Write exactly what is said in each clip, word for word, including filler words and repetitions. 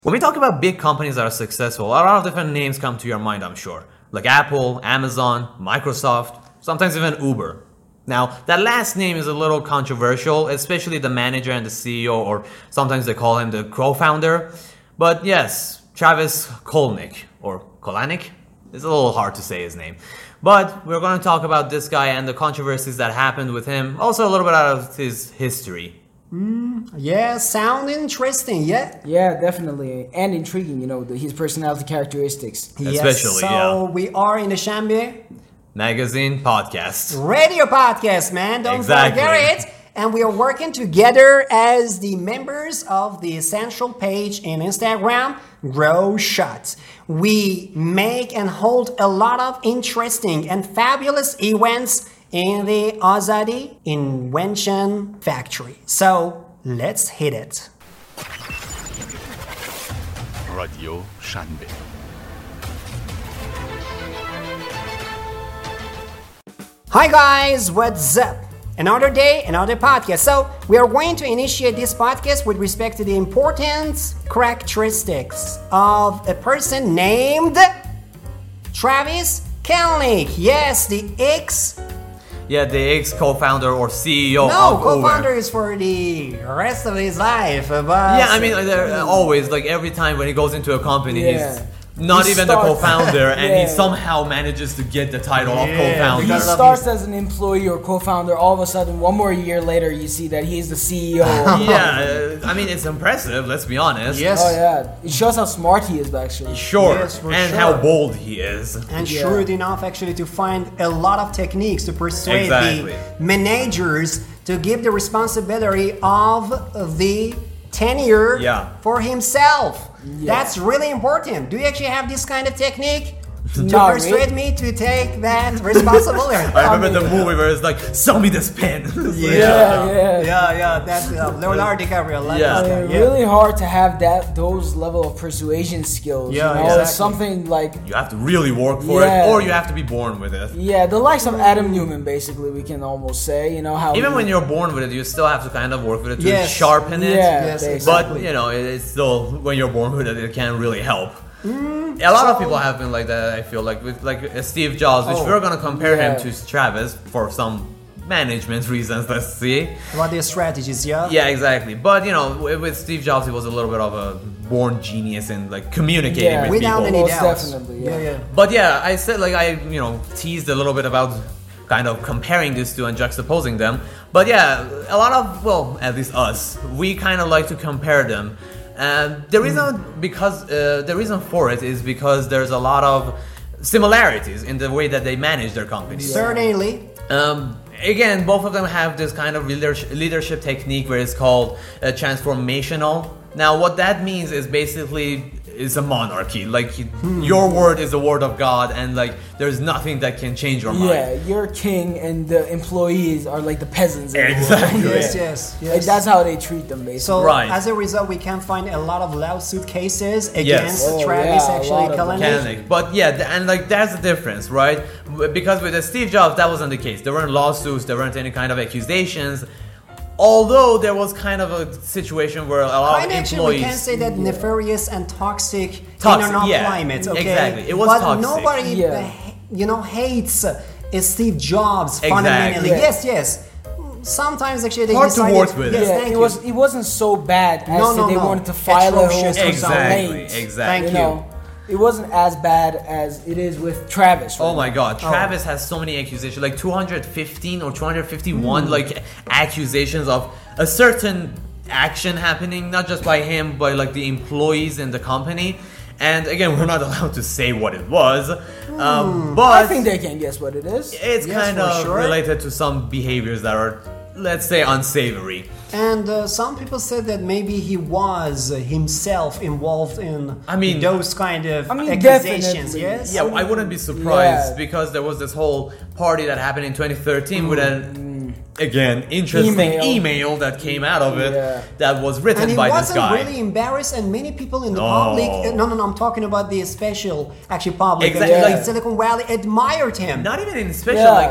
When we talk about big companies that are successful, a lot of different names come to your mind, I'm sure. Like Apple, Amazon, Microsoft, sometimes even Uber. Now, that last name is a little controversial, especially the manager and the C E O, or sometimes they call him the co-founder. But yes, Travis Kalanick, or Kalanick? It's a little hard to say his name. But we're going to talk about this guy and the controversies that happened with him, also a little bit out of his history. Mm, yeah, sound interesting, yeah? Yeah, definitely. And intriguing, you know, the, his personality characteristics. Especially, yes, so yeah. we are in the Shambi Magazine podcast. Radio podcast, man. Don't Exactly. forget it. And we are working together as the members of the essential page in Instagram, Grow Shots. We make and hold a lot of interesting and fabulous events in the Azadi Invention Factory. So let's hit it. رادیو شنبه. Hi guys, what's up? Another day, another podcast. So we are going to initiate this podcast with respect to the important characteristics of a person named Travis Kalanick. Yes, the ex Yeah, the ex-co-founder or C E O No, of co-founder Uber. is for the rest of his life. But Yeah, I mean, they're always, like every time when he goes into a company, Yeah. he's not He even starts- the co-founder, and he Yeah. somehow manages to get the title of Yeah, co-founder. He because of starts as an employee or co-founder. All of a sudden, one more year later, you see that he's the C E O. Yeah, uh, I mean, it's impressive, let's be honest. Yes. Oh yeah, it shows how smart he is actually. Sure, Yes, for and sure. how bold he is. And Yeah. shrewd enough actually to find a lot of techniques to persuade Exactly. the managers to give the responsibility of the tenure Yeah. for himself. Yeah. That's really important. Do you actually have this kind of technique to Not persuade really. me to take that responsibility? I remember mean- the movie where it's like, sell me this pen. Yeah, yeah. yeah, yeah. That's uh, Leonardo DiCaprio. I like Yeah. this I guy, mean, yeah. really hard to have that those level of persuasion skills. Yeah, you know, exactly. it's something like You have to really work for Yeah. it, or you have to be born with it. yeah, the likes of Adam Newman, basically, we can almost say. You know how Even he- when you're born with it, you still have to kind of work with it to Yes. sharpen it. Yeah, Yes, basically. But, exactly. you know, it- it's still, when you're born with it, it can't really help. A lot of people have been like that, I feel like, with like uh, Steve Jobs, which Oh, we're going to compare him yeah. to Travis for some management reasons, let's see. What their strategies, yeah? Yeah, exactly. But, you know, with, with Steve Jobs, he was a little bit of a born genius in, like, communicating Yeah. with Without people. any Most doubts. definitely, yeah. yeah, yeah. But yeah, I said like I you know teased a little bit about kind of comparing these two and juxtaposing them. But yeah, a lot of well, at least us, we kind of like to compare them. And the reason because uh, the reason for it is because there's a lot of similarities in the way that they manage their companies. Certainly. Um, again, both of them have this kind of leadership, leadership technique where it's called uh, transformational. Now, what that means is basically it's a monarchy. Like your word is the word of God, and like there's nothing that can change your mind. yeah, you're king, and the employees are like the peasants. in the world. Exactly. Yes, Yeah. yes, Like, yes. that's how they treat them, basically. So Right. as a result, we can find a lot of lawsuit cases against Yes. Oh, Travis yeah, a actually lot of them. Kalanick. Kalanick. But yeah, th- and like that's the difference, right? Because with the Steve Jobs, that wasn't the case. There weren't lawsuits, there weren't any kind of accusations. Although there was kind of a situation where a lot Kind of of actually, we employees. can say that nefarious and toxic, Toxic, internal yeah. climate. Okay, Exactly. It was but toxic. nobody, Yeah. uh, you know, hates uh, Steve Jobs Exactly. fundamentally. Yeah. Yes, yes. Sometimes actually they Hard to decided, work with. Yes, yeah, thank it you. was it wasn't so bad as No, to no, they no. wanted to file a whole Atrocious Exactly, complaint. exactly. Thank You know, it wasn't as bad as it is with Travis. Right Oh my now. god, Travis has so many accusations, like two hundred fifteen or two hundred fifty-one Hmm. like accusations of a certain action happening, not just by him, but like the employees in the company. And again, we're not allowed to say what it was, um, but I think they can guess what it is. it's Yes, kind for of sure. related to some behaviors that are, let's say, unsavory. And uh, some people said that maybe he was uh, himself involved in I mean- those kind of I mean, accusations. definitely. Yes. Yeah, I wouldn't be surprised Yeah. because there was this whole party that happened in twenty thirteen with an, again, interesting email. Email. that came out of it Yeah. that was written And he by this wasn't guy. really embarrassed, and many people in the No. public. uh, No, no, no. I'm talking about the special, actually, public. Exactly, uh, like- Silicon Valley admired him. Not even in special, Yeah. like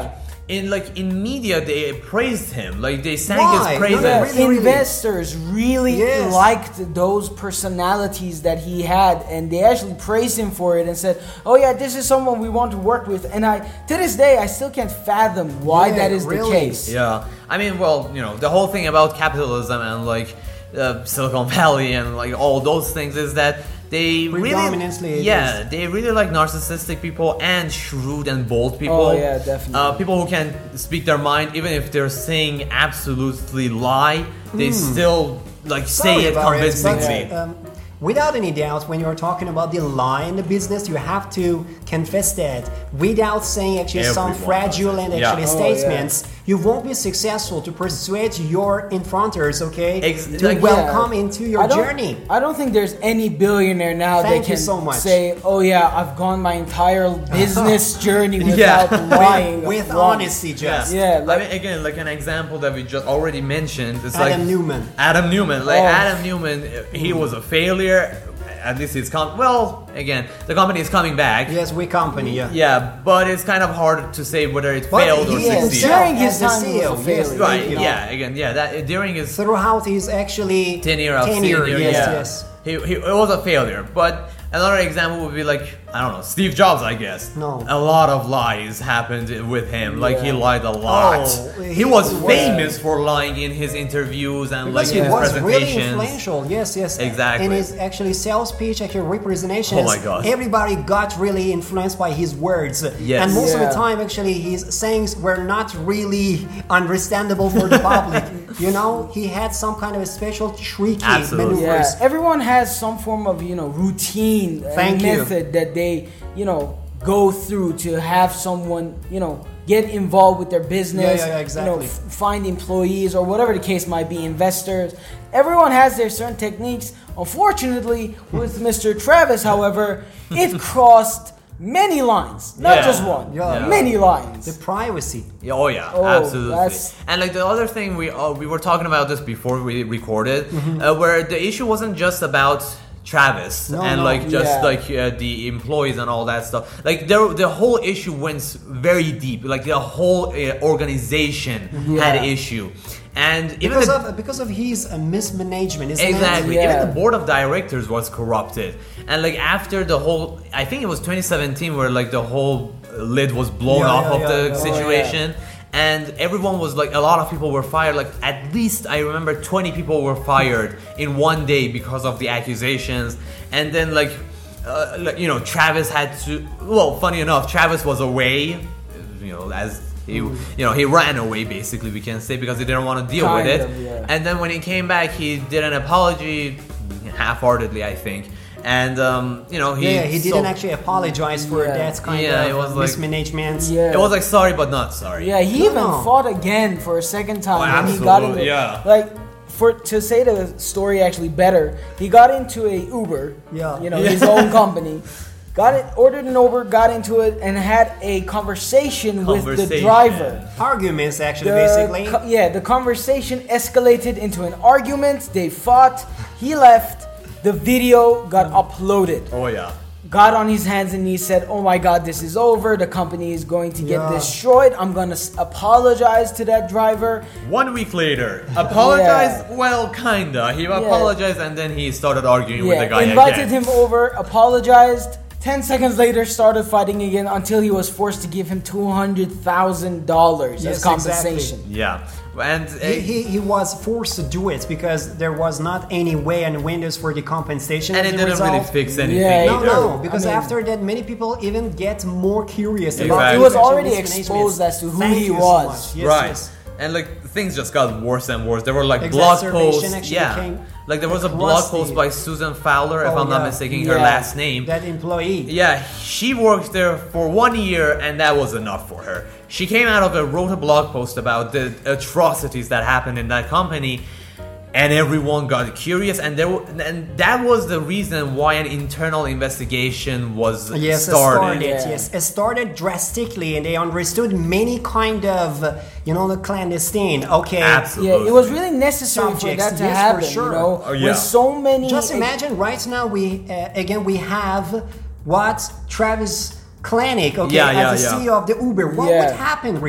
in like in media they praised him, like they sang Why? his praises. Yeah, Yeah, really, really. investors really Yes. liked those personalities that he had, and they actually praised him for it and said, "Oh yeah, this is someone we want to work with." And I, to this day, I still can't fathom why Yeah, that is really. the case. Yeah, I mean, well, you know, the whole thing about capitalism and like uh, Silicon Valley and like all those things is that they really, Predominantly it yeah, they really like narcissistic people and shrewd and bold people. Oh, yeah, definitely. Uh, people who can speak their mind, even if they're saying absolutely lie, they still like Hmm. Sorry say it about convincingly. but, um, without any doubt, when you're talking about the lie in the business, you have to confess that without saying actually some Everyone fraudulent does it. Yeah. actually Oh, yeah. statements, you won't be successful to persuade your infronters, okay, Ex- to like, welcome Yeah. into your I don't- journey. I don't think there's any billionaire now Thank that you can so much. say, "Oh yeah, I've gone my entire business journey Yeah. without lying." With, with once." honesty, just. Yeah, I like- mean, again, like an example that we just already mentioned is Adam like Newman. Adam Newman, like Oh. Adam Newman, he was a failure. At least it's com- well, again, the company is coming back. Yes, we company, yeah. Yeah, but it's kind of hard to say whether it But failed or he Yeah, succeeded. himself during his as the time, he C E O, was a yes, failure. Right? thank you. Yeah. Again, yeah. That during his Throughout his actually tenure of tenure, senior, yes, yeah, yes. he, he it was a failure. But another example would be like I don't know, Steve Jobs, I guess. No. A lot of lies happened with him. Like he Yeah. lied a lot. Oh, he, he was was- famous for lying in his interviews and Because like he in his was really presentations. influential, yes, yes. Exactly. In his actually sales pitch, actually representations, Oh my God. everybody got really influenced by his words. Yes. And most of Yeah. the time, actually, his sayings were not really understandable for the public. You know, he had some kind of a special tricky Absolutely. maneuvers. Yeah, everyone has some form of, you know, routine Thank and you. method that they, you know, go through to have someone, you know, get involved with their business, Yeah, yeah, yeah, exactly. you know, f- find employees or whatever the case might be, investors. Everyone has their certain techniques. Unfortunately, with Mister Travis, however, it crossed many lines, not Yeah. just one, Yeah. many lines. The privacy. Yeah, oh yeah, Oh, absolutely. that's- And like the other thing, we uh, we were talking about this before we recorded, Mm-hmm. uh, where the issue wasn't just about Travis No, and no. like just Yeah. like uh, the employees and all that stuff. Like the the whole issue went very deep. Like the whole uh, organization had Yeah. issue, and even Because the, of because of his uh, mismanagement, isn't Exactly. it? Yeah. Even the board of directors was corrupted. And like after the whole, I think it was twenty seventeen where like the whole lid was blown Yeah, off yeah, of yeah, the yeah. situation. And everyone was like, a lot of people were fired. Like at least I remember twenty people were fired in one day because of the accusations. And then like, uh, like you know, Travis had to. Well, funny enough, Travis was away. You know, as he, you know, he ran away basically. We can say because he didn't want to deal with Kind it. of, yeah. And then when he came back, he did an apology, half-heartedly, I think. And um, you know, he Yeah, he didn't so- actually apologize for Yeah. that kind Yeah, of it was like- mismanagement. Yeah. It was like sorry but not sorry. Yeah, he No, even no. fought again for a second time Oh, when he got absolutely, into yeah. like for to say the story actually better, he got into a Uber, Yeah. you know, Yeah. his own company. Got it, ordered an Uber, got into it, and had a conversation, with the Conversation. driver. Arguments, actually, The basically. co- yeah, the conversation escalated into an argument. They fought. He left. The video got uploaded. Oh yeah. Got on his hands and knees, said, "Oh my God, this is over. The company is going to get Yeah. destroyed. I'm gonna s- apologize to that driver." One week later, apologized. Well, kinda. He apologized and then he started arguing with Yeah, the guy invited again. him over, apologized. Ten seconds later, started fighting again until he was forced to give him two hundred thousand dollars Yes, as compensation. Yeah, and uh, He, he, he was forced to do it because there was not any way and windows for the compensation. and as it a didn't result. really fix anything. Yeah, No, either. no, because I mean- after that, many people even get more curious about Exactly. He He was sexual already mismanagement. exposed as to who Thank he you so was. much. Yes, Right. yes. And like things just got worse and worse. There were like blog Exacerbation posts. actually Yeah. became Like there was a blog crusty. post by Susan Fowler, if Oh, I'm not yeah. mistaken her Yeah. last name. That employee. Yeah, she worked there for one year and that was enough for her. She came out of it, wrote a blog post about the atrocities that happened in that company, and everyone got curious, and there w- and that was the reason why an internal investigation was Yes, it started. started. Yeah. Yes, it started drastically, and they understood many kind of, uh, you know, the clandestine. Okay, Absolutely. Yeah, it was really necessary for Subjects, that to yes, for happen. sure. You know, Oh, yeah. with so many. just imagine right now we uh, again we have what Travis Kalanick, okay, Yeah, yeah, as the yeah. C E O of the Uber. What Yeah. would happen really?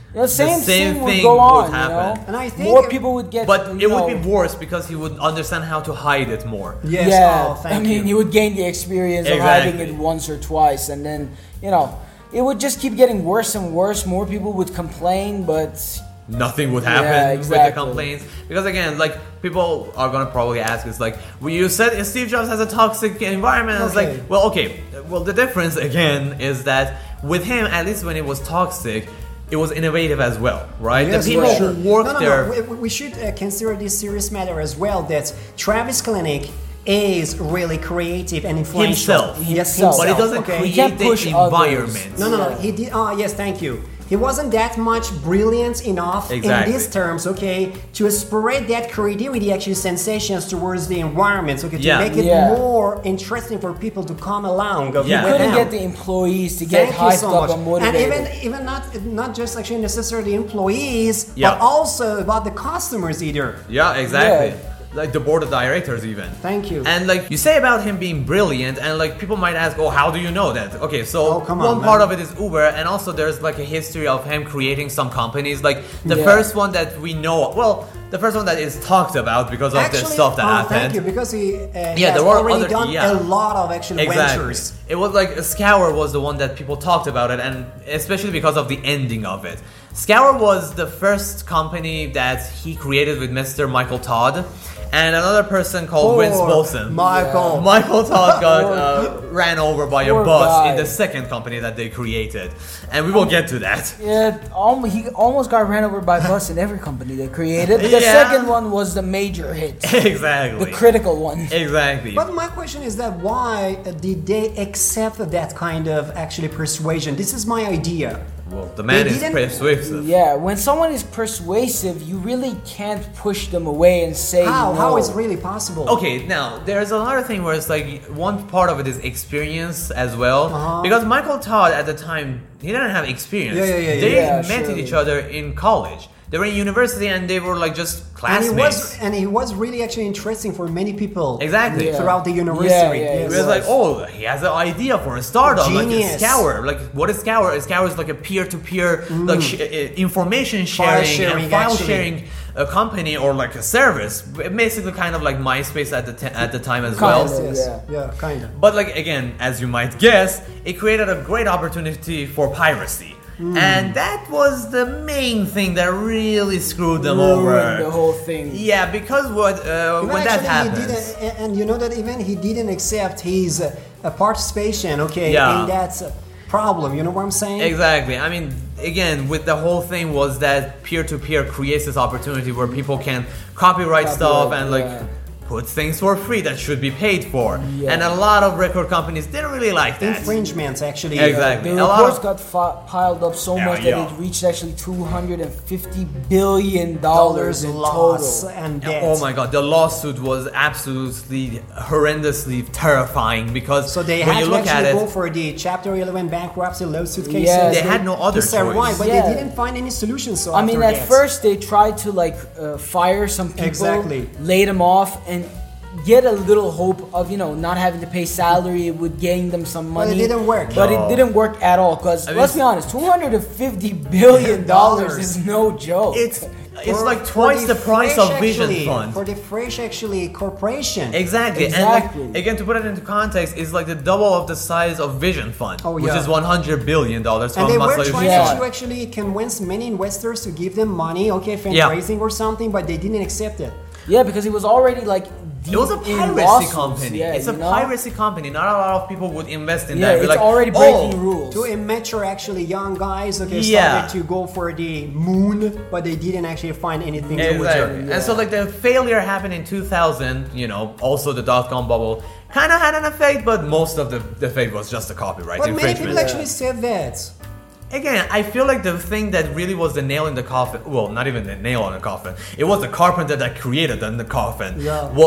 You know, same, the same thing would thing go would on, happen. you know? And I think more it- people would get. But you it would know, be worse because he would understand how to hide it more. Yes, yeah, oh, thank I mean, you. you would gain the experience of hiding Exactly. it once or twice, and then you know, it would just keep getting worse and worse. More people would complain, but Nothing would happen Yeah, with exactly. the complaints because again, like people are gonna probably ask, it's like, well, you said Steve Jobs has a toxic environment. It's Okay. like, well, okay, well, the difference again is that with him, at least when it was toxic, it was innovative as well, right? Yes, the people for sure. who worked no, no, there. No, we, we should uh, consider this serious matter as well. That Travis Kalanick is really creative and influential. Himself. Yes, Himself. himself. But it doesn't okay? He can't create push the others. environment. No, no, no. Yeah. He did. Oh, yes, thank you. He wasn't that much brilliant enough Exactly. in these terms, okay, to spread that creativity, actually sensations towards the environment, okay, to Yeah. make it Yeah. more interesting for people to come along. Okay, Yeah. with couldn't them. get the employees to get Thank you hyped so up much. and motivated. And even even not not just actually necessarily employees, Yeah. but also about the customers either. Yeah, exactly. Yeah. Like the board of directors, even. Thank you. And like you say about him being brilliant, and like people might ask, oh, how do you know that? Okay, so Oh, come on, one part man. of it is Uber, and also there's like a history of him creating some companies. Like the Yeah. first one that we know, well, the first one that is talked about because of the Actually, stuff that oh, happened. thank you, because he, uh, he Yeah, has there were already other- done yeah. a lot of actually Exactly. ventures. It was like Scour was the one that people talked about it, and especially because of the ending of it. Scour was the first company that he created with Mister Michael Todd, and another person called Vince Poor Bolson. Michael. Michael Todd got uh, ran over by a Poor bus guy. in the second company that they created, and we will get to that. Yeah, almost, he almost got ran over by a bus in every company they created. But the Yeah. second one was the major hit, Exactly. the critical one. Exactly. But my question is that why uh, did they accept that kind of actually persuasion? This is my idea. well, the man They is didn't- persuasive. Yeah, when someone is persuasive, you really can't push them away and say How? no. How is really possible? Okay, now there's another thing where it's like one part of it is experience as well, Uh-huh. because Michael Todd at the time he didn't have experience. Yeah, yeah, yeah, yeah. They Yeah, met surely. each other in college. They were in university and they were like just And he classmates. was and he was really actually interesting for many people. Exactly. Yeah. Throughout the university. Yeah, yeah, It Yes. was like, oh, he has an idea for a startup, like Genius. a Scour. Like, what is Scour? Scour is like a peer-to-peer, like sh- uh, information sharing, sharing, and file actually. sharing a company or like a service. Basically, kind of like MySpace at the t- at the time as Kind well. of. Yes. Yeah. Yeah, kind of. But like again, as you might guess, it created a great opportunity for piracy. And that was the main thing that really screwed them Ruined over. the whole thing. Yeah, because what uh, Even when that actually, he happens, didn't, and you know that even he didn't accept his uh, uh, participation, okay, Yeah. in that uh, problem. You know what I'm saying? exactly. I mean, again, with the whole thing was that peer-to-peer creates this opportunity where people can copyright stuff and like yeah. put things for free that should be paid for. Yeah. And a lot of record companies didn't really like that. Infringements, actually. Exactly. The A lot reports of- got fi- piled up so Yeah, much that yeah. it reached actually two hundred fifty billion dollars Dollars in loss total. and debt. Oh my god, the lawsuit was absolutely horrendously terrifying because So they when had you to look at actually go it, for the Chapter eleven bankruptcy lawsuit cases. Yes. They had no other to survive, choice. but Yeah. they didn't find any solution. So I mean, after at that. first they tried to like uh, fire some people, Exactly. lay them off, and get a little hope of you know not having to pay salary. It would gain them some But it money. didn't work. But No. it didn't work at all. Because I mean, let's be honest, two hundred and fifty billion dollars Dollars. is no joke. it's it's For- like for twice the, price Fresh of Vision actually, Fund. For the Fresh actually corporation. Exactly. Exactly. And like, again, to put it into context, is like the double of the size of Vision Fund, Oh, which yeah. is one hundred billion dollars from And they were Masayoshi trying Yeah. to actually convince many investors to give them money, okay, fundraising or something, but they didn't accept it. yeah, because it was already like deep It was a in piracy lawsuits. company. Yeah, it's a you know? piracy company. Not a lot of people would invest in Yeah, that. Be it's like, already breaking "Oh, rules. To immature actually young guys, okay, Yeah. started to go for the moon, but they didn't actually find anything to Exactly. return. And so like the failure happened in two thousand, you know, also the dot-com bubble kind of had an effect, but most of the, the effect was just the copyright But many infringement. people actually said that. Again, I feel like the thing that really was the nail in the coffin, well, not even the nail on the coffin, it was the carpenter that created the, the coffin, Yeah. was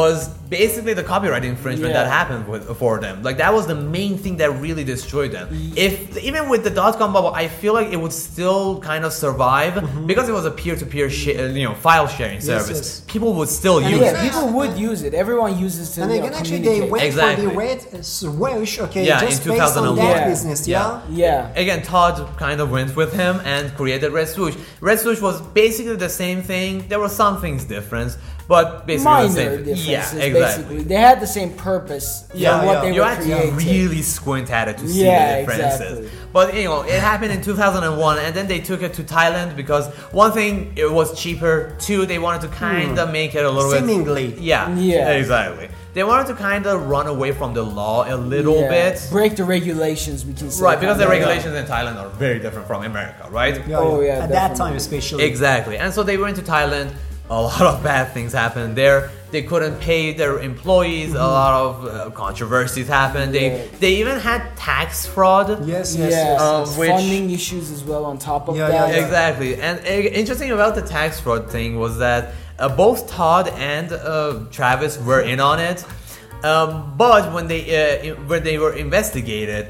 basically the copyright infringement Yeah. that happened with, for them. Like that was the main thing that really destroyed them. If even with the dot com bubble, I feel like it would still kind of survive because it was a peer-to-peer sh- uh, you know file sharing service. yes. People would still And use Yeah, it. again- people would use it. Everyone uses to And you again, know, actually, they communicate. went Exactly. for the red swoosh, okay, Yeah, just in based on that two thousand one. business, yeah? Yeah. Again, Todd kind of went with him and created Red Swoosh. Red Swoosh was basically the same thing. There were some things different, but basically Minor the same. differences, Yeah, basically. exactly. They had the same purpose. Yeah, Yeah, what yeah. they You were had to creating. really squint at it to see Yeah, the differences. exactly. But you know, it happened in two thousand one, and then they took it to Thailand because one thing, it was cheaper. Two, they wanted to kind of make it a little Seemingly. bit. Yeah, Yeah. exactly. They wanted to kind of run away from the law a little Yeah. bit. Break the regulations, we can say. Right, because the Yeah. regulations in Thailand are very different from America, right? Yeah, Oh, yeah. yeah, At that definitely. time, especially. Exactly. And so they went to Thailand. A lot of bad things happened there. They couldn't pay their employees. A lot of uh, controversies happened. They Yeah. they even had tax fraud. Yes, yes, Yeah, yes. Um, yes. which- funding issues as well on top of Yeah, that. yeah, yeah. Exactly. And uh, interesting about the tax fraud thing was that uh, both Todd and uh, Travis were in on it. Um, but when they uh, when they were investigated,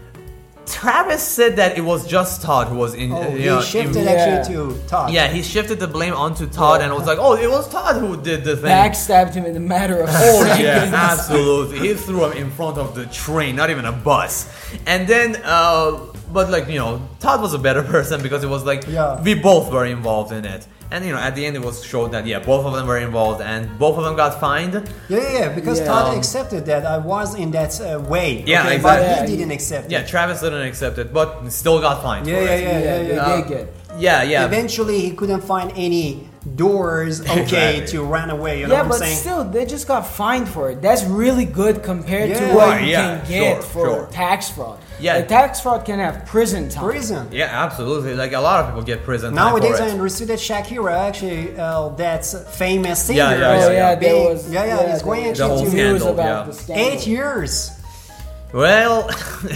Travis said that it was just Todd who was in. Oh, uh, you he know, shifted in- Yeah. actually to Todd. Yeah, he shifted the blame onto Todd Yeah. and was like, "Oh, it was Todd who did the thing." Backstabbed him in a matter of Oh seconds. yeah, absolutely. He threw him in front of the train, not even a bus. And then, uh, but like you know, Todd was a better person because it was like Yeah. we both were involved in it. And you know, at the end, it was showed that yeah, both of them were involved, and both of them got fined. Yeah, yeah, yeah, because Yeah. Todd Um, accepted that I was in that uh, way. Yeah, okay, exactly. But Yeah, he didn't accept Yeah, it. Travis didn't accept it, but still got fined. Yeah, for yeah, it. yeah, yeah, Yeah, yeah. they Uh, did get. Yeah, yeah. Eventually, he couldn't find any doors, okay, Exactly. to run away. You know Yeah, what but I'm saying? still, they just got fined for it. That's really good compared to Yeah. what Right, you yeah, can get sure, for sure. tax fraud. Yeah. Like, tax fraud can have prison time. Prison. Yeah, absolutely. Like a lot of people get prison time Nowadays, for I it. understood that Shakira, actually, uh, that's famous singer. Yeah, yeah, Oh yeah, yeah, yeah. there being- was. yeah, yeah, he's going there The was whole news scandal, about yeah. the scandal. Eight years. Well,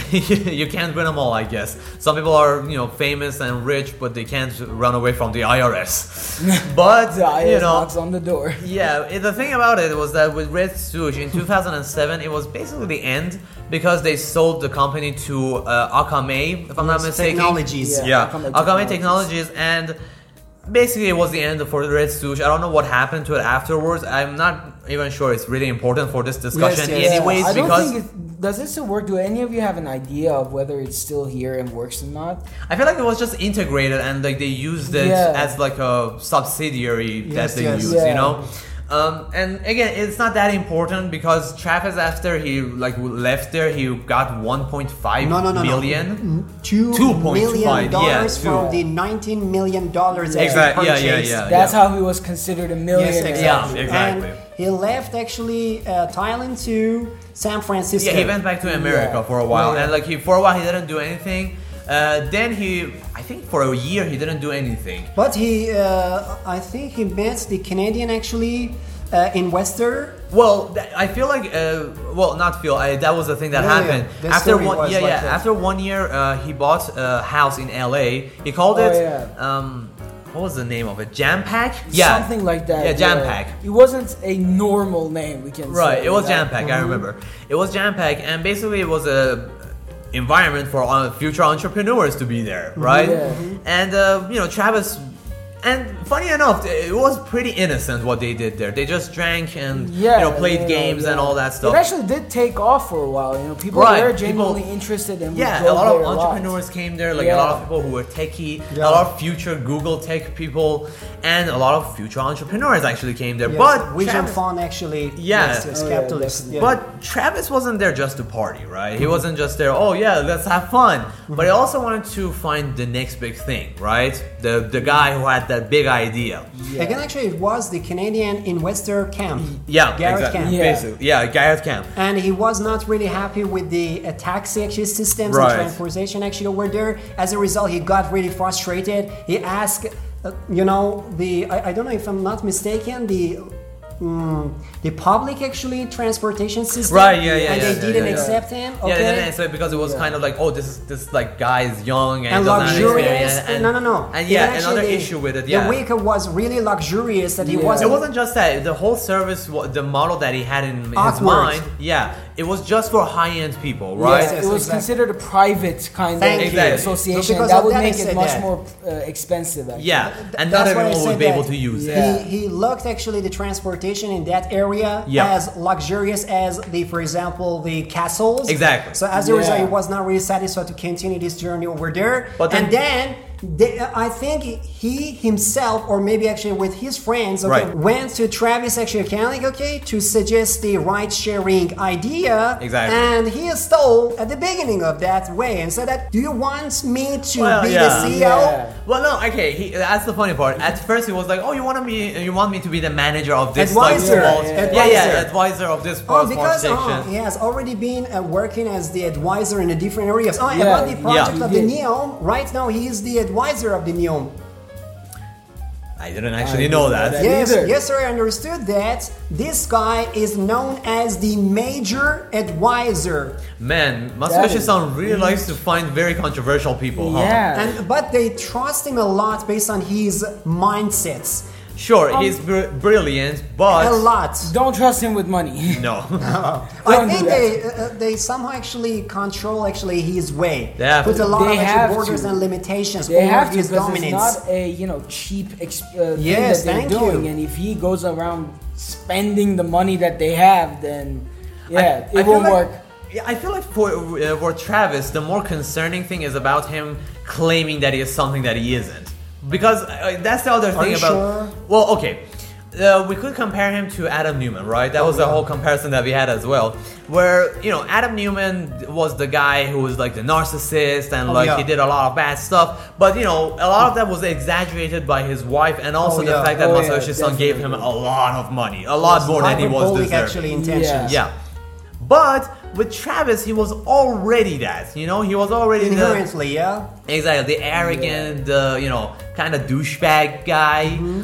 you can't win them all, I guess. Some people are, you know, famous and rich, but they can't run away from the I R S. But The I R S you know, knocks on the door. yeah. it- The thing about it was that with Red Swoosh in two thousand seven, it was basically the end because they sold the company to uh, Akamai, if I'm not Yes, mistaken. Technologies. Yeah. Yeah, Akamai Akamai Technologies. Technologies, and basically it was the end for Red Swoosh. I don't know what happened to it afterwards. I'm not even sure it's really important for this discussion, yes. anyways, I don't because. think it, does it still work? Do any of you have an idea of whether it's still here and works or not? I feel like it was just integrated and like they used it Yeah. as like a subsidiary Yes, that they yes. use, Yeah. you know. Um, and again, it's not that important because Travis, after he like left there, he got one point five No, no, no, million. no. Two two point million five, dollars yeah, from two. the nineteen million dollars that Exact- he yeah, yeah, purchased. yeah. That's how he was considered a millionaire. Yes, exactly. Yeah, exactly. And he left actually uh, Thailand to San Francisco. Yeah, he went back to America Yeah. for a while, Yeah, yeah. and like he for a while he didn't do anything. Uh, then he, I think for a year he didn't do anything. But he, uh, I think he met the Canadian actually uh, investor. Well, th- I feel like, uh, well, not feel. I, that was the thing that Yeah, yeah. happened The after story one. was Yeah, like yeah. that. After one year, uh, he bought a house in L A. He called Oh, it. yeah. Um, what was the name of it? Jam Pack. Yeah, Something like that. Yeah, Jam Pack. It wasn't a normal name, we can Right, say. it was That- Jam Pack. I remember. It was Jam Pack, and basically it was a environment for uh, future entrepreneurs to be there, right? Yeah. And uh, you know, Travis. And funny enough, it was pretty innocent what they did there. They just drank and Yeah, you know played you know, games and yeah. all that stuff. It actually did take off for a while. You know, people Right, were people- genuinely interested and would Yeah, go a lot of there a lot. entrepreneurs came there, like a Yeah. lot of people who were techie, Yeah. a lot of future Google tech people, and a lot of future entrepreneurs actually came there. Yes, But Vision Travis, Fund actually. Yeah. Yes, yes, Oh, yeah, capitalist. definitely. yeah. but Travis wasn't there just to party, right? He wasn't just there. Oh yeah, let's have fun. But he also wanted to find the next big thing, right? The the guy who had that big idea. Yeah. Again, actually, it was the Canadian investor camp. Yeah, Garrett exactly. Camp. Yeah. Basically, yeah, Garrett Camp. And he was not really happy with the uh, taxi actually systems Right. and transportation actually over there. As a result, he got really frustrated. He asked, uh, you know, the I, I don't know if I'm not mistaken, the mm, the public actually transportation system. Right, yeah, yeah, And yeah, they yeah, didn't yeah, yeah. accept him. Yeah, Okay. they didn't accept it because it was kind of like, oh, this is this like guy is young and, and he doesn't have luxurious. experience. And, no, no, no. And Even yeah, actually another the- issue with it. Yeah, The vehicle was really luxurious that he Yeah. wasn't. it wasn't just that. The whole service, wa- the model that he had in his Awkward. mind, yeah, it was just for high-end people, right? Yes, it yes, was exactly. considered a private kind Thank of you. Exactly. association. So because that of would that, I make said it much that. more uh, expensive. Actually. Yeah, and That's not why I everyone said would be that able to use it. Yeah. He, he looked actually the transportation in that area Yeah. as luxurious as the, for example, the castles. Exactly. So as a result, Yeah. he was not really satisfied to continue this journey over there. But and then- then. They, I think he himself, or maybe actually with his friends, okay, Right. went to Travis actually Kalanick, okay, to suggest the ride-sharing idea. Exactly. And he stole at the beginning of that way and said that, do you want me to Well, be yeah. the C E O? Yeah. Well, no, okay. He, that's the funny part. At first, he was like, "Oh, you want me? You want me to be the manager of this Advisor, like small, yeah. yeah, Advisor. yeah, advisor of this Oh, small because station." oh, he has already been uh, working as the advisor in the different areas. Oh, Yeah, about the project yeah. of He the did. Neom, right now he is the advisor of the Neom. I didn't actually I know didn't know that. that. Yes, either. yes, sir. I understood that. This guy is known as the major advisor, Man, That Masayoshi is- Son really likes to find very controversial people, huh? Yeah. and but they trust him a lot based on his mindsets. Sure, Um, he's br- brilliant, but A lot. Don't trust him with money. no. I Don't do think that. they uh, they somehow actually control actually his way. They have Put to. a lot They of have actually borders to. and limitations They over have to his because dominance. it's not a you know cheap exp- uh, thing Yes, that they're thank doing, you. and if he goes around spending the money that they have, then yeah, I- it I feel won't like- work. Yeah, I feel like for uh, for Travis, the more concerning thing is about him claiming that he is something that he isn't. Because uh, that's the other thing you about. sure? Well, okay. Uh, we could compare him to Adam Newman, right? That was the whole comparison that we had as well. Where, you know, Adam Newman was the guy who was like the narcissist and Oh, like yeah. he did a lot of bad stuff. But, you know, a lot of that was exaggerated by his wife and also Oh, the yeah. fact that Oh, yeah, Masayoshi Son gave him a definitely. lot of money. A lot more than he was Hyperbolic deserving. actually intentions. Yeah. But with Travis, he was already that. You know, he was already the Inherently, yeah. exactly the arrogant, uh, you know, kind of douchebag guy. Mm-hmm.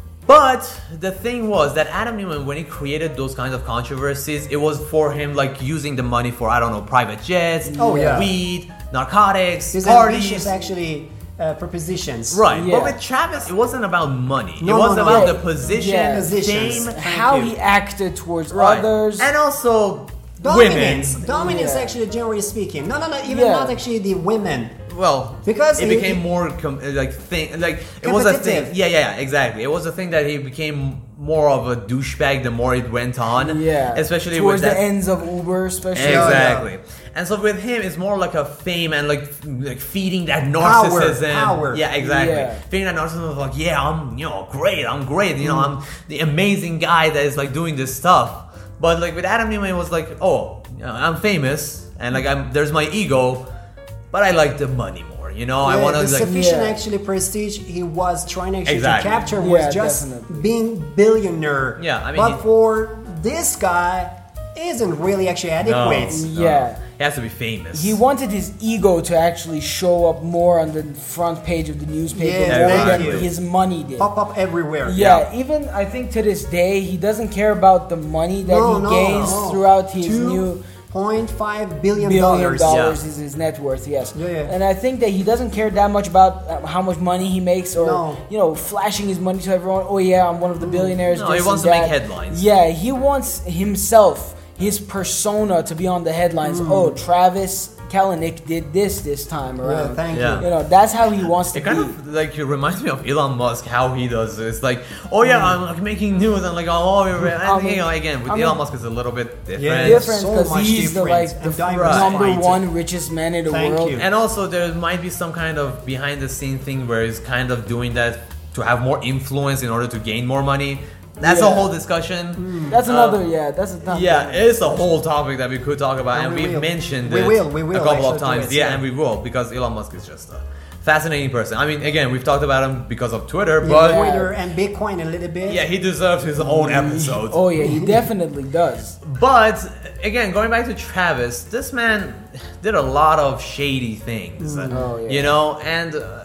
But the thing was that Adam Newman, when he created those kinds of controversies, it was for him like using the money for I don't know private jets, Oh, yeah. weed, narcotics, His parties. ambitious actually uh, propositions. Right, Yeah. but with Travis, it wasn't about money. No, it was no, no. about Yeah. the position, Yeah. Positions. fame, Thank How you. he acted towards right. others. and also Dominance. women. Dominance, Yeah. actually, generally speaking. No, no, no. Even Yeah. not actually the women. Well, Because it he- became he- more com- like thing like it was a thing. Competitive. Yeah, yeah, yeah, exactly. It was a thing that he became more of a douchebag the more it went on. yeah, especially towards with that. the ends of Uber, especially. Yeah. Exactly. And so with him, it's more like a fame and like like feeding that Power, narcissism. power. Yeah, exactly. Yeah. Feeding that narcissism of like, yeah, I'm you know great, I'm great, you know, Mm. I'm the amazing guy that is like doing this stuff. But like with Adam Newman, it was like, oh, you know, I'm famous and like I'm there's my ego, but I like the money more. You know, I Yeah, want to the like sufficient Yeah. actually prestige he was trying actually Exactly. to capture was Yeah, just definitely. being billionaire. Yeah, I mean, but he- for this guy, isn't really actually adequate. No. Yeah. He has to be famous. He wanted his ego to actually show up more on the front page of the newspaper Yeah, more thank than you. his money did. Pop up everywhere. Yeah, even I think to this day he doesn't care about the money that No, he no, gains no. throughout his Two new point five billion billion dollars. dollars Yeah. is his net worth. Yes, Yeah, yeah. and I think that he doesn't care that much about uh, how much money he makes or No. you know flashing his money to everyone. Oh yeah, I'm one of the billionaires. No, this he and wants to make that. headlines. Yeah, he wants himself, his persona, to be on the headlines. Oh, Travis Kalanick did this this time Yeah, around. thank Yeah. You know, that's how he wants to It kind be. of like it reminds me of Elon Musk how he does it. It's like, oh yeah, I'm like making news and like oh, and, I'm- you know, again with I'm Elon a- Musk is a little bit different. Yeah, different so because much he's the different like and the diversified. number one richest man in the Thank world. you. And also there might be some kind of behind the scene thing where he's kind of doing that to have more influence in order to gain more money. That's a Yeah. whole discussion. That's Uh, another, yeah, that's a topic. Yeah, it's a whole topic that we could talk about, and, And we we've will. mentioned We it will, we will a couple actually of do times. it, yeah, yeah. and we will because Elon Musk is just a fascinating person. I mean, again, we've talked about him because of Twitter, Yeah, but Twitter and Bitcoin a little bit. yeah, he deserves his own episode. Oh yeah, he definitely does. But again, going back to Travis, this man did a lot of shady things. Oh, yeah. You know, and uh,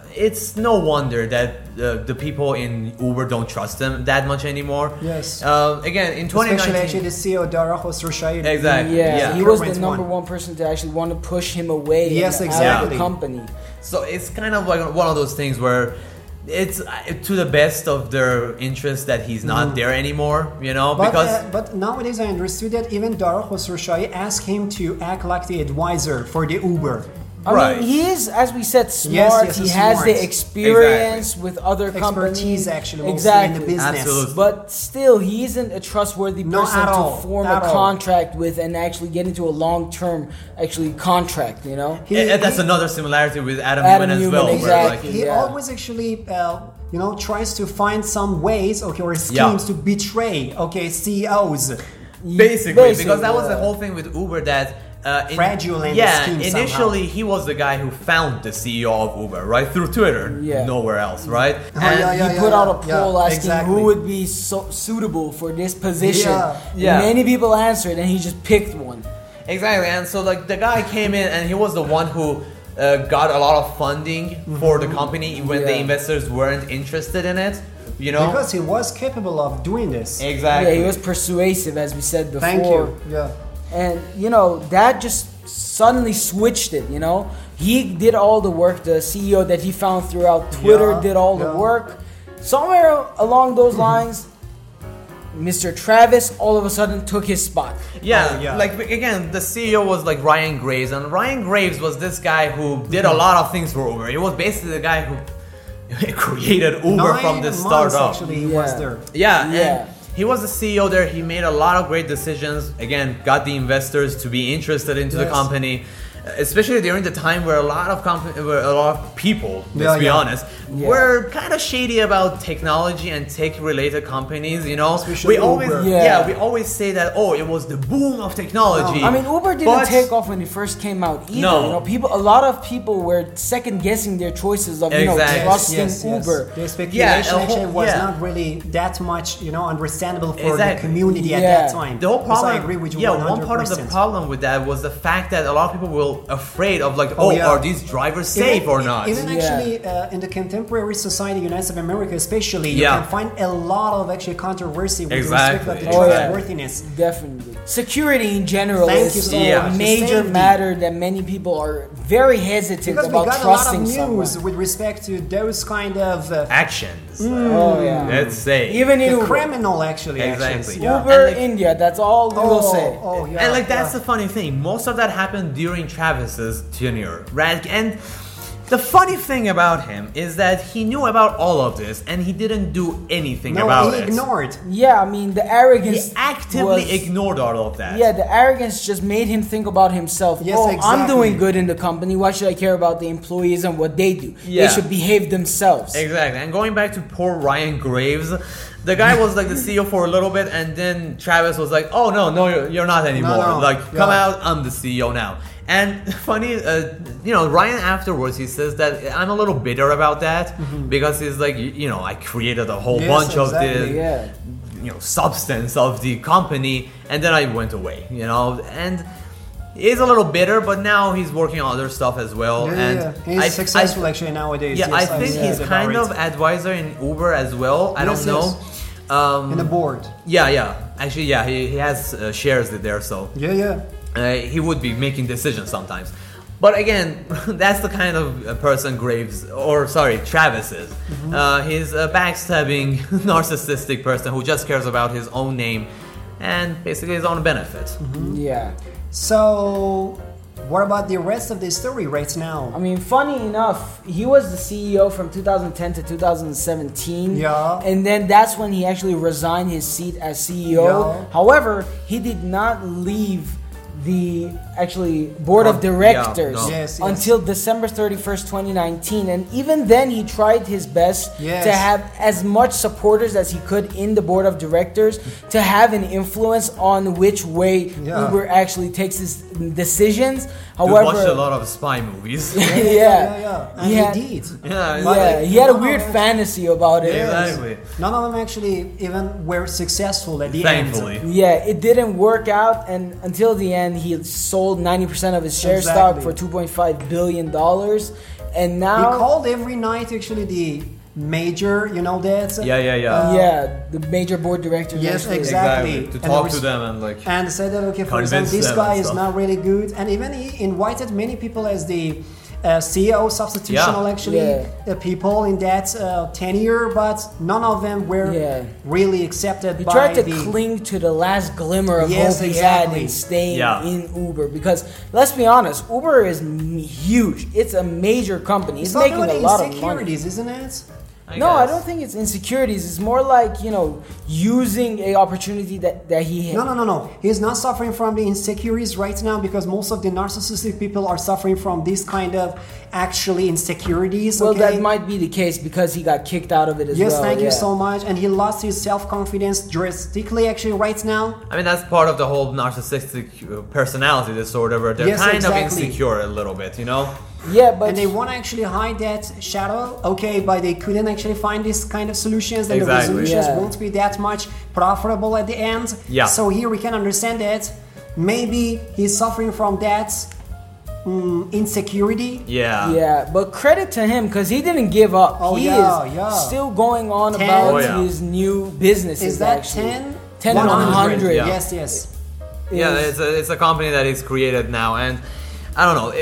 it's no wonder that uh, the people in Uber don't trust them that much anymore. Yes. Uh, again, in twenty nineteen, Especially actually the C E O Dara Khosrowshahi. Exactly. Yeah, Yeah. he was the Current number one. one person to actually want to push him away. Yes, and out of exactly. the company. So it's kind of like one of those things where it's uh, to the best of their interest that he's not there anymore, you know, But, because uh, but nowadays I understood that even Dara Khosrowshahi asked him to act like the advisor for the Uber. I Right. mean, he is, as we said, smart. yes, he he's has smart. the experience with other companies. Expertise actually mostly exactly. in the business. Absolutely. But still, he isn't a trustworthy No, person at to all. form At a all. contract with and actually get into a long-term actually contract. You know. He- and that's he- another similarity with Adam, Adam Newman as Newman, well. where, exactly. like, He Yeah. always actually, uh, you know, tries to find some ways, okay, or schemes Yeah. to betray, okay, C E Os. Basically, Basically, because that was the yeah. whole thing with Uber that uh, in- Fraudulent yeah, scheme initially somehow. he was the guy who found the C E O of Uber, right, through Twitter, Yeah. nowhere else, right? Oh, yeah, yeah. he put out a poll yeah, asking exactly. who would be so suitable for this position. Yeah. Yeah. Many people answered, and he just picked one. Exactly, and so like the guy came in and he was the one who uh, got a lot of funding for the company when the Yeah. investors weren't interested in it, you know? Because he was capable of doing this. exactly. Yeah, he was persuasive, as we said before. Thank you. Yeah. And you know that just suddenly switched it. You know, he did all the work. The C E O that he found throughout Twitter Yeah, did all the yeah. work. Somewhere along those lines, Mister Travis all of a sudden took his spot. Yeah, Oh, yeah. like again, the C E O was like Ryan Graves, and Ryan Graves was this guy who did a lot of things for Uber. He was basically the guy who created Uber Nine from the months startup. actually he Yeah. was there. Yeah, Yeah. and he was the C E O there. He made a lot of great decisions. Again, got the investors to be interested into the Yes. company, especially during the time where a lot of comp- where a lot of people, let's Yeah, be yeah. honest, Yeah. were kind of shady about technology and tech-related companies. You know, Especially we always, Uber. yeah. Yeah. we always say that. Oh, it was the boom of technology. I mean, Uber didn't But- take off when it first came out either. No. You know, people, a lot of people were second guessing their choices of you know Exactly. trusting Yes, yes. Uber. The speculation Yeah, a whole- actually was yeah. not really that much, you know, understandable for Exactly. the community at Yeah. that time. The whole Yes, problem, I agree with you yeah, one hundred percent. one part of the problem with that was the fact that a lot of people were afraid of like, Oh, oh, yeah. are these drivers safe even, or not? Even Yeah. actually uh, in the contemporary society, United States of America especially, you Yeah. can find a lot of actually controversy with Exactly. respect to the Oh, yeah. trustworthiness. Definitely. Security in general Thank you is so Yeah. a much. major Safety. matter that many people are very hesitant Because we about got a lot of trusting news someone. with respect to those kind of uh, Actions. Oh yeah. Let's say. Even in the Uber. criminal actually. Exactly. Actions. Yeah. Uber And like- India, that's all we will Oh, say. oh, yeah, and like that's yeah. the funny thing. Most of that happened during Travis's tenure, right? And the funny thing about him is that he knew about all of this and he didn't do anything No, about he it. ignored. Yeah, I mean the arrogance He actively was- ignored all of that. Yeah, the arrogance just made him think about himself. Yes, oh, I'm exactly. doing good in the company. Why should I care about the employees and what they do? Yeah. They should behave themselves. Exactly. And going back to poor Ryan Graves, the guy was like the C E O for a little bit, and then Travis was like, "Oh no, no, you're, you're not anymore. no, Like, come yeah. out. I'm the C E O now." And funny, uh, you know, Ryan afterwards he says that I'm a little bitter about that because he's like, you, you know, I created a whole Yes, bunch exactly, of the, yeah. you know, substance of the company, and then I went away. You know, and. He's a little bitter, but now he's working on other stuff as well. Yeah, and yeah, yeah. He's I- successful I, actually nowadays. yeah, yes, I think see he's about kind it. of advisor in Uber as well. I Yes, don't know. Um, in the board. yeah, yeah. Actually, yeah, he, he has uh, shares there, so Yeah, yeah. uh, he would be making decisions sometimes. But again, that's the kind of uh, person Graves, or sorry, Travis is. Mm-hmm. Uh, he's a backstabbing, narcissistic person who just cares about his own name and basically his own benefit. Mm-hmm. Yeah. So, what about the rest of the story right now? I mean, funny enough, he was the C E O from two thousand ten to two thousand seventeen. Yeah. And then that's when he actually resigned his seat as C E O. Yeah. However, he did not leave the actually board Oh, of directors yeah, no. Yes, yes. until December thirty-first, twenty nineteen. And even then, he tried his best Yes. to have as much supporters as he could in the board of directors to have an influence on which way Yeah. Uber actually takes his decisions. We However, watched a lot of spy movies. yeah, yeah, yeah. And He he, had- did. yeah, But, yeah, like, he had a none weird of them- fantasy about it. Yes. Exactly. None of them actually even were successful at the Thankfully. end. Yeah, it didn't work out, and until the end, he sold sold ninety percent of his share Exactly. stock for two point five billion dollars. And He now, called every night actually the major, you know that? Yeah, yeah, yeah. Uh, yeah, the major board directors. Yes, actually- exactly. To And talk it to was- them and like. And said that, okay, for Convince example, this them guy and is stuff. not really good. And even he invited many people as the uh, C E O substitutional, Yeah. actually, Yeah. uh, people in that uh, tenure, but none of them were Yeah. really accepted He by tried to the... cling to the last glimmer of Yes, hope he exactly. had in staying Yeah. in Uber. Because let's be honest, Uber is m- huge. It's a major company. It's, It's not making really a lot of money. insecurities, isn't it? No, I guess. don't think it's insecurities. It's more like, you know, using a opportunity that, that he had. No, no, no, no. He's not suffering from the insecurities right now because most of the narcissistic people are suffering from this kind of actually insecurities. Well, okay? that might be the case because he got kicked out of it as Yes, well. thank you yeah. so much. And he lost his self-confidence drastically actually right now. I mean, that's part of the whole narcissistic uh, personality disorder where they're Yes, kind exactly. of insecure a little bit, you know? Yeah, but And they want to actually hide that shadow, okay, but they couldn't actually find this kind of solutions, then Exactly. the resolutions Yeah. won't be that much profitable at the end. Yeah. So here we can understand that maybe he's suffering from that mm, insecurity. Yeah. yeah, but credit to him because he didn't give up. Oh, he yeah, is yeah. still going on ten. about Oh, yeah. his new businesses. Is that actually. ten? ten and one hundred. Yeah. Yes, yes. Yeah, is- it's a, it's a company that is created now, and I don't know,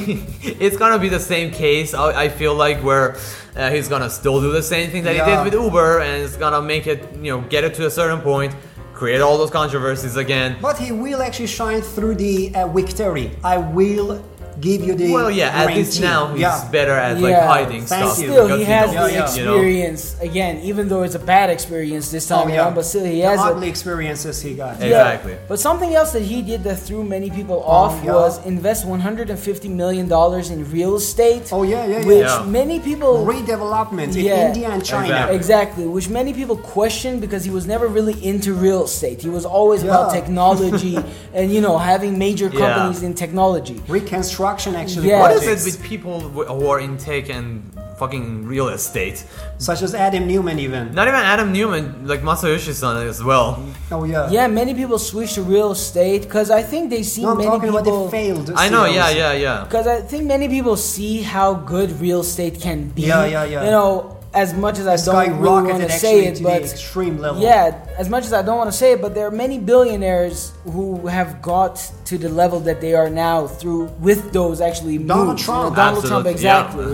it's gonna be the same case. I, I feel like where uh, he's gonna still do the same thing that Yeah. he did with Uber, and it's gonna make it, you know, get it to a certain point, create all those controversies again. But he will actually shine through the uh, victory. I will give you the Well, yeah, at least guarantee. now he's Yeah. better at like Yeah, hiding thank stuff. you. Still, because he has knows, the yeah. you know? experience again, even though it's a bad experience this time Oh, yeah. around. But still, he the has a, ugly experiences he got. Yeah. Yeah, Exactly. But something else that he did that threw many people off yeah. was invest one hundred fifty million dollars in real estate. Oh, yeah, yeah, yeah. Which Yeah. many people Redevelopment in Yeah. India and China. Exactly. exactly, which many people question because he was never really into real estate. He was always about Yeah. technology and you know having major Yeah. companies in technology. Reconstruction actually. Yeah. What is projects, it with people who are in tech and fucking real estate? such as Adam Newman even. Not even Adam Newman, like Masayoshi-san as well. Oh yeah. Yeah, many people switch to real estate because I think they see No, I'm many talking people. about the failed. I know, C E Os. yeah, yeah, yeah. Because I think many people see how good real estate can be. Yeah, yeah, yeah. You know, as much as I don't really Skyrocketed want to actually say it, to but the extreme level. yeah, as much as I don't want to say it, but there are many billionaires who have got to the level that they are now through with those actually Donald moves. Trump. You know, Donald Trump, Absolutely, yeah. exactly.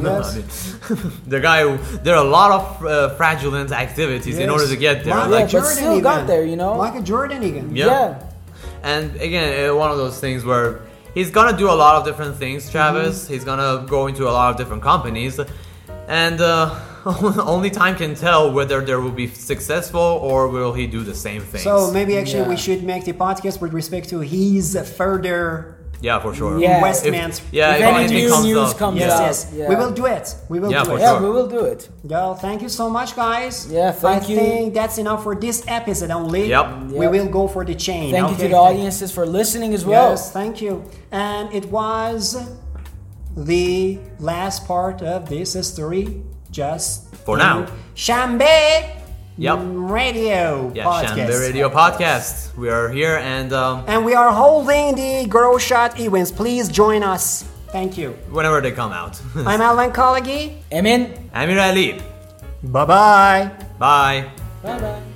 Yes. The guy who, there are a lot of uh, fraudulent activities in Yes. order to get there. Michael Yeah, Like, but Jordan still got even. there, you know? Michael Jordan again. Yeah. Yeah. and again, uh, one of those things where he's gonna do a lot of different things, Travis. Mm-hmm. He's gonna go into a lot of different companies, and uh, only time can tell whether there will be successful or will he do the same things. So maybe actually Yeah. we should make the podcast with respect to his further yeah, for sure. Yeah. investments. If- yeah, If if any anything new comes news up. comes Yes, out. yes. Yeah. We will do it. We will Yeah, do for it. Yeah, sure. we will do it. Yeah, thank you so much, guys. Yeah, thank I you. think that's enough for this episode only. Yep. We Yep. will go for the chain. Thank you okay? to the audiences for listening as well. Yes, thank you. And it was the last part of this story, just For in now. Shambe Yep. Radio Yeah, Podcast. Shambe Radio Podcast. We are here and um, And we are holding the Grow Shot events. Please join us. Thank you. whenever they come out. I'm Alan Kalagi. Emin. Amir Ali. Bye bye. Bye. Bye bye.